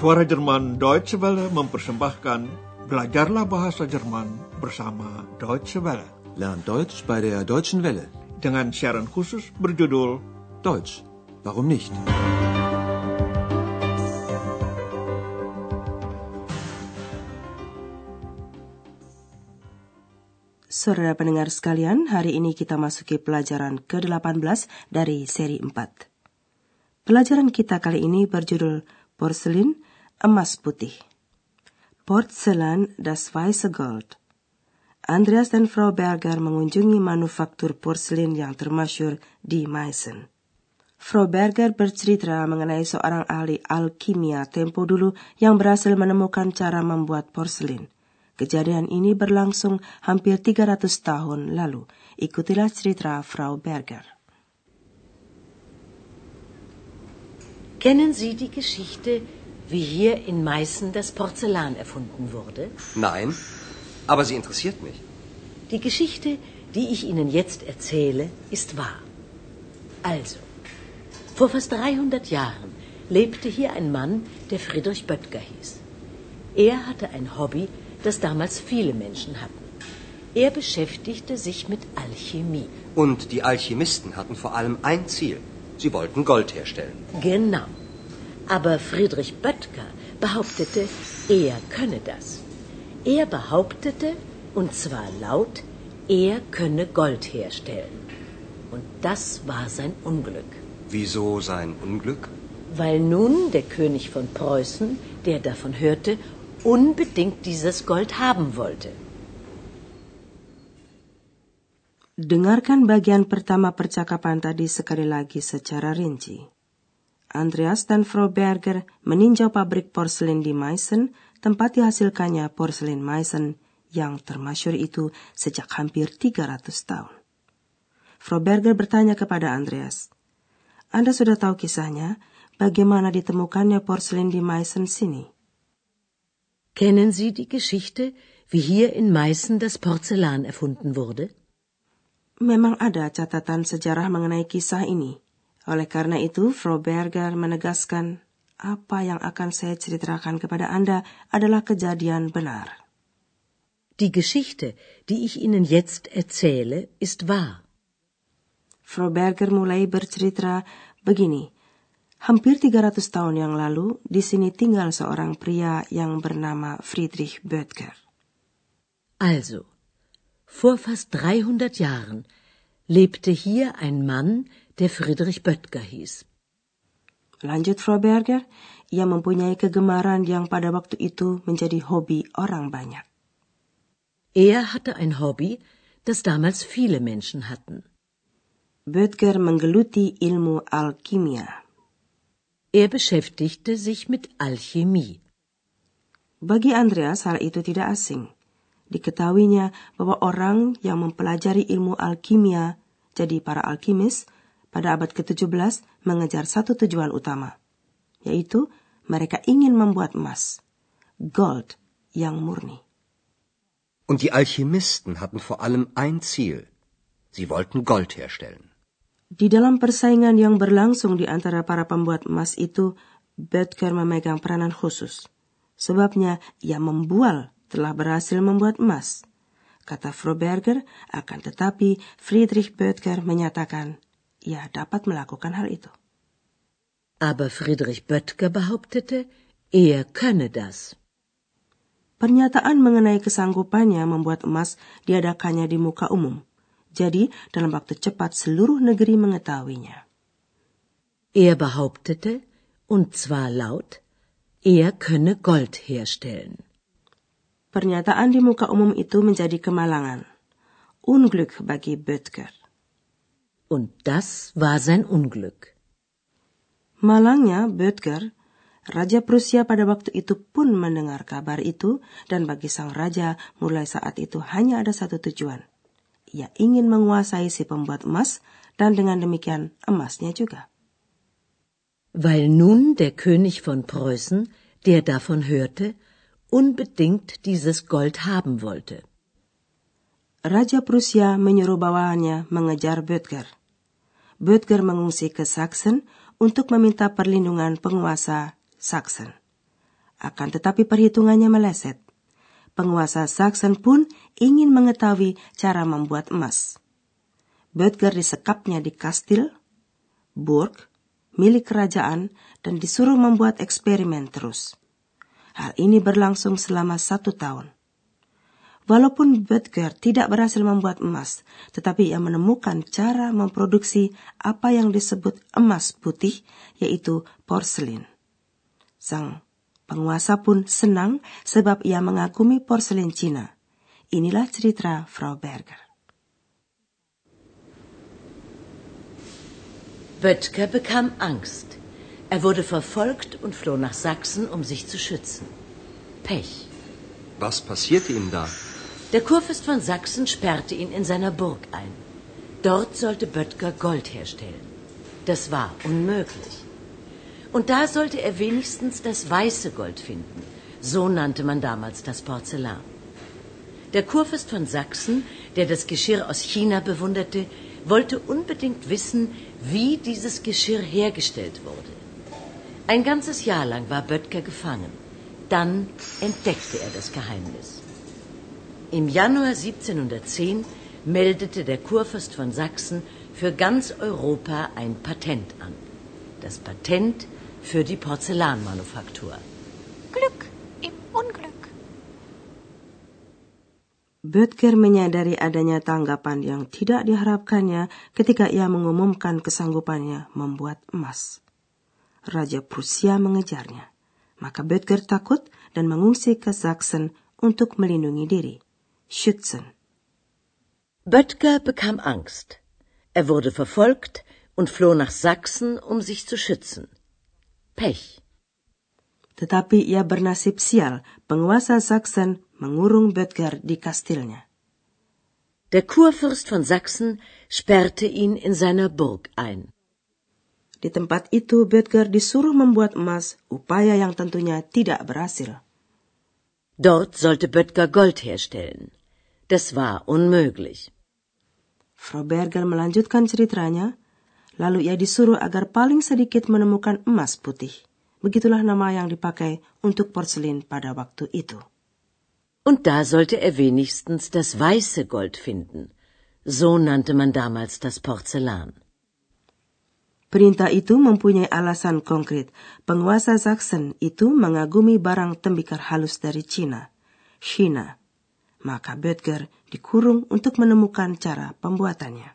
Suara Jerman Deutsche Welle mempersembahkan Belajarlah Bahasa Jerman bersama Deutsche Welle. Lern Deutsch bei der Deutschen Welle. Dengan siaran khusus berjudul Deutsch, warum nicht? Saudara pendengar sekalian, hari ini kita masuki pelajaran ke-18 dari seri 4. Pelajaran kita kali ini berjudul Porselin, emas putih. Porzellan, das weiße Gold. Andreas dan Frau Berger mengunjungi manufaktur porselin yang termasyhur di Meissen. Frau Berger bercerita mengenai seorang ahli alkimia tempo dulu yang berhasil menemukan cara membuat porselin. Kejadian ini berlangsung hampir 300 tahun lalu. Ikutilah cerita Frau Berger. Kennen Sie die Geschichte, wie hier in Meißen das Porzellan erfunden wurde? Nein, aber sie interessiert mich. Die Geschichte, die ich Ihnen jetzt erzähle, ist wahr. Also, vor fast 300 Jahren lebte hier ein Mann, der Friedrich Böttger hieß. Er hatte ein Hobby, das damals viele Menschen hatten. Er beschäftigte sich mit Alchemie. Und die Alchemisten hatten vor allem ein Ziel. Sie wollten Gold herstellen. Genau. Aber Friedrich Böttger behauptete, er könne das. Er behauptete, und zwar laut, er könne Gold herstellen. Und das war sein Unglück. Wieso sein Unglück? Weil nun der König von Preußen, der davon hörte, unbedingt dieses Gold haben wollte. Dengarkan bagian pertama percakapan tadi sekali lagi secara rinci. Andreas dan Frau Berger meninjau pabrik porselin di Meissen, tempat dihasilkannya porselin Meissen yang termasyhur itu sejak hampir 300 tahun. Frau Berger bertanya kepada Andreas, "Anda sudah tahu kisahnya, bagaimana ditemukannya porselin di Meissen sini?" Kennen Sie die Geschichte, wie hier in Meißen das Porzellan erfunden wurde? Memang ada catatan sejarah mengenai kisah ini. Oleh karena itu, Frau Berger menegaskan, apa yang akan saya ceritakan kepada Anda adalah kejadian benar. Die Geschichte, die ich Ihnen jetzt erzähle, ist wahr. Frau Berger mulai bercerita begini. Hampir 300 tahun yang lalu, di sini tinggal seorang pria yang bernama Friedrich Böttger. Also, vor fast 300 Jahren lebte hier ein Mann, der Friedrich Böttger hieß. Lanjut Frau Berger, ia mempunyai kegemaran yang pada waktu itu menjadi hobi orang banyak. Er hatte ein Hobby, das damals viele Menschen hatten. Böttger menggeluti ilmu alkimia. Er beschäftigte sich mit Alchemie. Bagi Andreas hal itu tidak asing. Diketahuinya bahwa orang yang mempelajari ilmu alkimia, jadi para alkimis, pada abad ke-17 mengejar satu tujuan utama, yaitu mereka ingin membuat emas, gold yang murni. Und die Alchemisten hatten vor allem ein Ziel. Sie wollten Gold herstellen. Di dalam persaingan yang berlangsung di antara para pembuat emas itu, Böttger memegang peranan khusus. Sebabnya, ia membual telah berhasil membuat emas. Kata Frau Berger, akan tetapi Friedrich Böttger menyatakan, ia dapat melakukan hal itu. Aber Friedrich Böttger behauptete, er könne das. Pernyataan mengenai kesanggupannya membuat emas diadakannya di muka umum. Jadi, dalam waktu cepat seluruh negeri mengetahuinya. Er behauptete, und zwar laut, er könne Gold herstellen. Pernyataan di muka umum itu menjadi kemalangan. Unglück bagi Böttger. Und das war sein Unglück. Malangnya Böttger, Raja Prusia pada waktu itu pun mendengar kabar itu, dan bagi sang raja mulai saat itu hanya ada satu tujuan. Ia ingin menguasai si pembuat emas, dan dengan demikian emasnya juga. Weil nun der König von Preußen, der davon hörte, unbedingt dieses Gold haben wollte. Raja Prusia menyuruh bawahannya mengejar Böttger. Böttger mengungsi ke Sachsen untuk meminta perlindungan penguasa Sachsen. Akan tetapi perhitungannya meleset. Penguasa Saxon pun ingin mengetahui cara membuat emas. Böttger disekapnya di kastil, burg, milik kerajaan, dan disuruh membuat eksperimen terus. Hal ini berlangsung selama 1 tahun. Walaupun Böttger tidak berhasil membuat emas, tetapi ia menemukan cara memproduksi apa yang disebut emas putih, yaitu porselin. Sang penguasa pun senang sebab ia mengagumi porselin Cina. Inilah cerita Frau Berger. Böttger bekam Angst. Er wurde verfolgt und floh nach Sachsen, um sich zu schützen. Pech. Was passierte ihm da? Der Kurfürst von Sachsen sperrte ihn in seiner Burg ein. Dort sollte Böttger Gold herstellen. Das war unmöglich. Und da sollte er wenigstens das weiße Gold finden. So nannte man damals das Porzellan. Der Kurfürst von Sachsen, der das Geschirr aus China bewunderte, wollte unbedingt wissen, wie dieses Geschirr hergestellt wurde. Ein ganzes Jahr lang war Böttger gefangen. Dann entdeckte er das Geheimnis. Im Januar 1710 meldete der Kurfürst von Sachsen für ganz Europa ein Patent an. Das Patent für die Porzellanmanufaktur. Glück im Unglück. Böttger menyadari adanya tanggapan yang tidak diharapkannya ketika ia mengumumkan kesanggupannya membuat emas. Raja Prusia mengejarnya. Maka Böttger takut dan mengungsi ke Sachsen untuk melindungi diri. Schützen. Böttger bekam Angst. Er wurde verfolgt und floh nach Sachsen, um sich zu schützen. Pech. Tetapi ia bernasib sial, penguasa Sachsen mengurung Böttger di kastilnya. Der Kurfürst von Sachsen sperrte ihn in seiner Burg ein. Di tempat itu Böttger disuruh membuat emas, upaya yang tentunya tidak berhasil. Dort sollte Böttger Gold herstellen. Das war unmöglich. Frau Berger melanjutkan ceritanya, lalu ia disuruh agar paling sedikit menemukan emas putih. Begitulah nama yang dipakai untuk porselin pada waktu itu. Und da sollte er wenigstens das weiße Gold finden. So nannte man damals das Porzellan. Perintah itu mempunyai alasan konkret. Penguasa Sachsen itu mengagumi barang tembikar halus dari Cina, China. Maka Böttger dikurung untuk menemukan cara pembuatannya.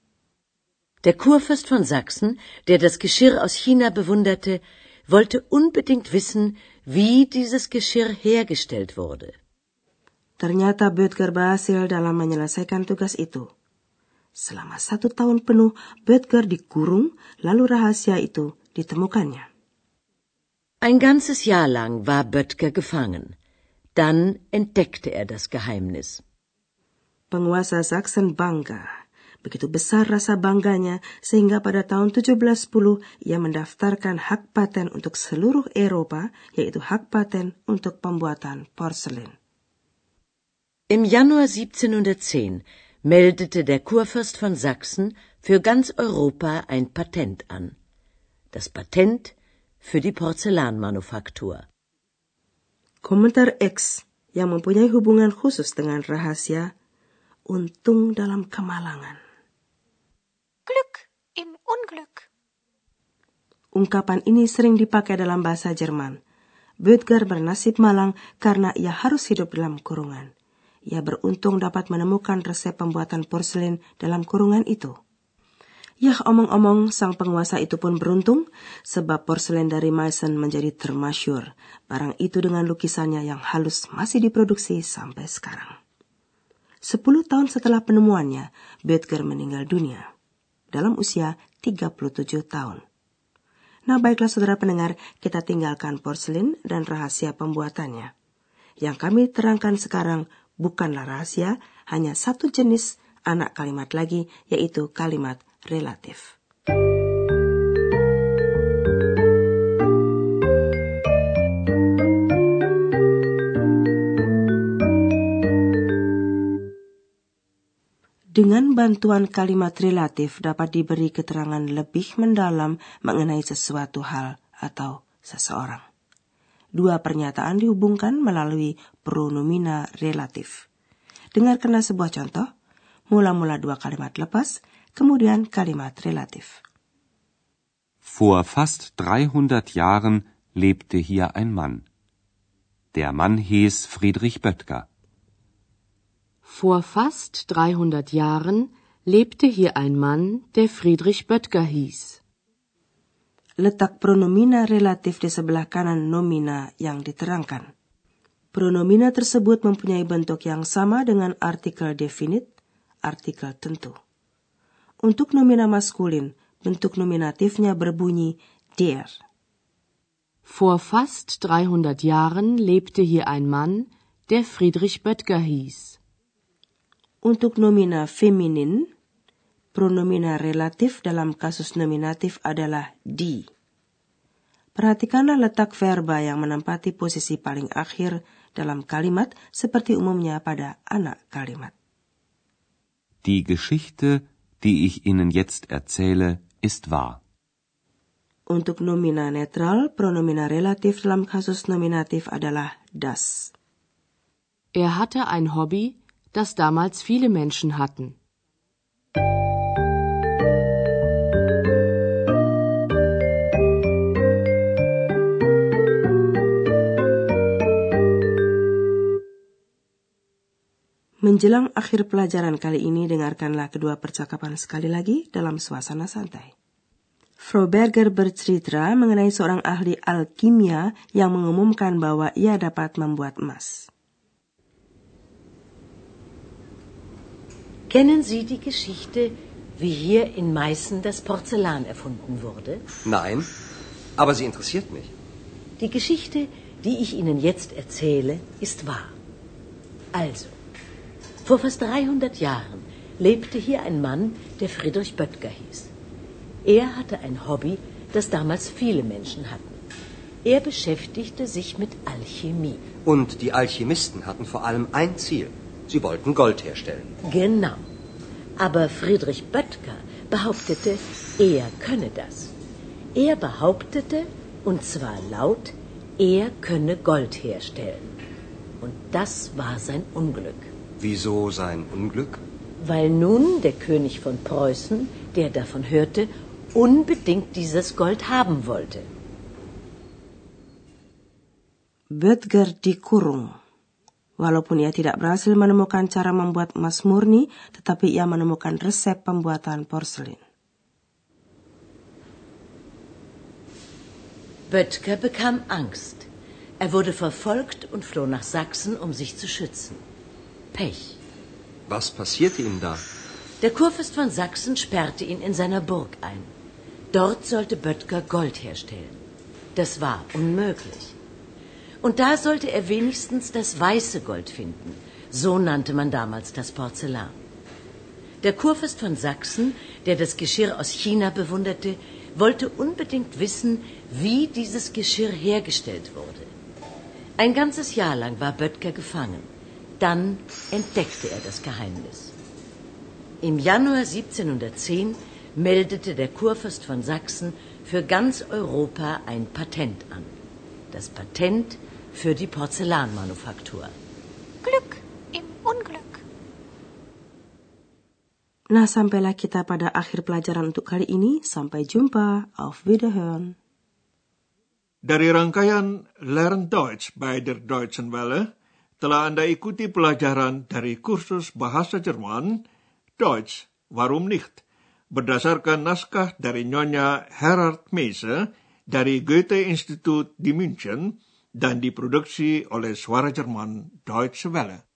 Der Kurfürst von Sachsen, der das Geschirr aus China bewunderte, wollte unbedingt wissen, wie dieses Geschirr hergestellt wurde. Ternyata Böttger berhasil dalam menyelesaikan tugas itu. Selama 1 tahun penuh, Böttger dikurung, lalu rahasia itu ditemukannya. Ein ganzes Jahr lang war Böttger gefangen. Dann entdeckte er das Geheimnis. Penguasa Sachsen bangga. Begitu besar rasa bangganya sehingga pada tahun 1710 ia mendaftarkan hak paten untuk seluruh Eropa, yaitu hak paten untuk pembuatan porselin. Im Januar 1710 meldete der Kurfürst von Sachsen für ganz Europa ein Patent an. Das Patent für die Porzellanmanufaktur. Komentar X yang mempunyai hubungan khusus dengan rahasia, untung dalam kemalangan. Glück im Unglück. Ungkapan ini sering dipakai dalam bahasa Jerman. Böttger bernasib malang karena ia harus hidup dalam kurungan. Ia beruntung dapat menemukan resep pembuatan porselin dalam kurungan itu. Yah, omong-omong, sang penguasa itu pun beruntung sebab porselin dari Meissen menjadi termasyur. Barang itu dengan lukisannya yang halus masih diproduksi sampai sekarang. 10 tahun setelah penemuannya, Böttger meninggal dunia dalam usia 37 tahun. Nah, baiklah saudara pendengar, kita tinggalkan porselin dan rahasia pembuatannya. Yang kami terangkan sekarang bukanlah rahasia, hanya satu jenis anak kalimat lagi, yaitu kalimat relatif. Dengan bantuan kalimat relatif dapat diberi keterangan lebih mendalam mengenai sesuatu hal atau seseorang. dua pernyataan dihubungkan melalui pronomina relatif. Dengarkanlah sebuah contoh. Mula-mula dua kalimat lepas, kemudian kalimat relatif. Vor fast 300 Jahren lebte hier ein Mann. Der Mann hieß Friedrich Böttger. Vor fast 300 Jahren lebte hier ein Mann, der Friedrich Böttger hieß. Letak pronomina relatif di sebelah kanan nomina yang diterangkan. Pronomina tersebut mempunyai bentuk yang sama dengan artikel definite, artikel tentu. Untuk nomina maskulin, bentuk nominatifnya berbunyi der. Vor fast 300 Jahren lebte hier ein Mann, der Friedrich Böttger hieß. Untuk nomina feminin, pronomina relatif dalam kasus nominatif adalah die. Perhatikanlah letak verba yang menempati posisi paling akhir dalam kalimat seperti umumnya pada anak kalimat. Die Geschichte, die ich Ihnen jetzt erzähle, ist wahr. Untuk nomina netral, pronomina relatif dalam kasus nominatif adalah das. Er hatte ein Hobby, das damals viele Menschen hatten. Menjelang akhir pelajaran kali ini, dengarkanlah kedua percakapan sekali lagi dalam suasana santai. Frau Berger bercerita mengenai seorang ahli alkimia yang mengumumkan bahwa ia dapat membuat emas. Kennen Sie die Geschichte, wie hier in Meißen das Porzellan erfunden wurde? Nein, aber sie interessiert mich. Die Geschichte, die ich Ihnen jetzt erzähle, ist wahr. Also, vor fast 300 Jahren lebte hier ein Mann, der Friedrich Böttger hieß. Er hatte ein Hobby, das damals viele Menschen hatten. Er beschäftigte sich mit Alchemie. Und die Alchemisten hatten vor allem ein Ziel. Sie wollten Gold herstellen. Genau. Aber Friedrich Böttger behauptete, er könne das. Er behauptete, und zwar laut, er könne Gold herstellen. Und das war sein Unglück. Wieso sein Unglück? Weil nun der König von Preußen, der davon hörte, unbedingt dieses Gold haben wollte. Böttger dikurung. Walaupun ia tidak berhasil menemukan cara membuat emas murni, tetapi ia menemukan resep pembuatan porselin. Böttger bekam Angst. Er wurde verfolgt und floh nach Sachsen, um sich zu schützen. Pech. Was passierte ihm da? Der Kurfürst von Sachsen sperrte ihn in seiner Burg ein. Dort sollte Böttger Gold herstellen. Das war unmöglich. Und da sollte er wenigstens das weiße Gold finden. So nannte man damals das Porzellan. Der Kurfürst von Sachsen, der das Geschirr aus China bewunderte, wollte unbedingt wissen, wie dieses Geschirr hergestellt wurde. Ein ganzes Jahr lang war Böttger gefangen. Dann entdeckte er das Geheimnis. Im Januar 1710 meldete der Kurfürst von Sachsen für ganz Europa ein Patent an. Das Patent für die Porzellanmanufaktur. Glück im Unglück. Nah, sampailah kita pada akhir pelajaran untuk kali ini. Sampai jumpa. Auf Wiederhören. Dari rangkaian Lern Deutsch bei der Deutschen Welle, telah Anda ikuti pelajaran dari kursus bahasa Jerman, Deutsch, warum nicht? Berdasarkan naskah dari Nyonya Herard Meise dari Goethe-Institut di München dan diproduksi oleh Suara Jerman Deutsche Welle.